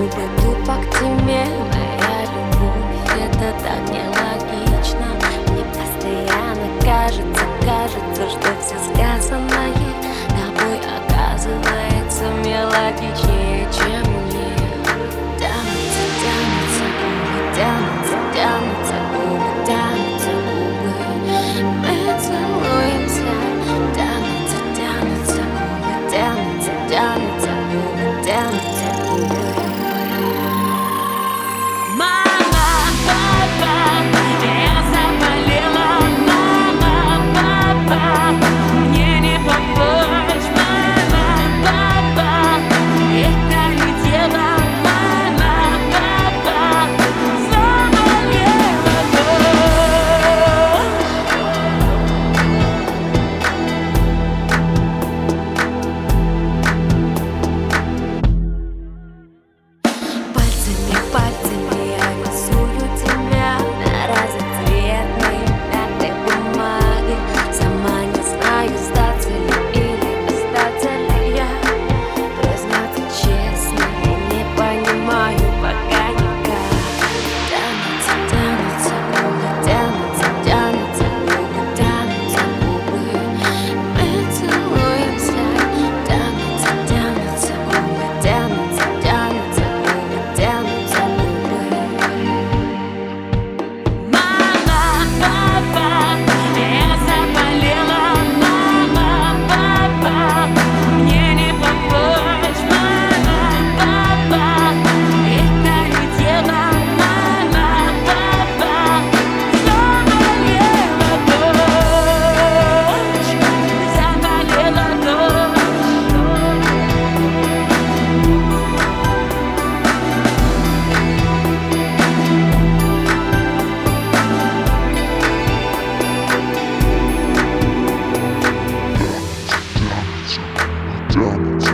губы тупо к тебе. Моя любовь, это так нелогично. Мне постоянно кажется, что все сказанное тобой оказывается мелодичнее, чем мне. Тянутся губы, тянутся губы, тянутся губы. Мы целуемся. Тянутся губы, тянутся губы, тянутся губы. Мама, папа, я заболела. Мама, папа, мне не помочь. Мама, папа, это не дело. Мама, папа, заболела дочь. Пальцами я рисую тебя на разноцветной мятой бумаге. Сама не знаю, сдаться ли или остаться ли я. Признаться честно, я не понимаю пока никак. Тянутся губы, тянутся губы, тянутся губы. Мы целуемся. Тянутся губы, тянутся губы, тянутся губы. Мама, папа, я заболела. Мама, папа, мне не помочь. Мама, папа, это не дело. Мама, папа, заболела дочь. Заболела дочь. Damn it.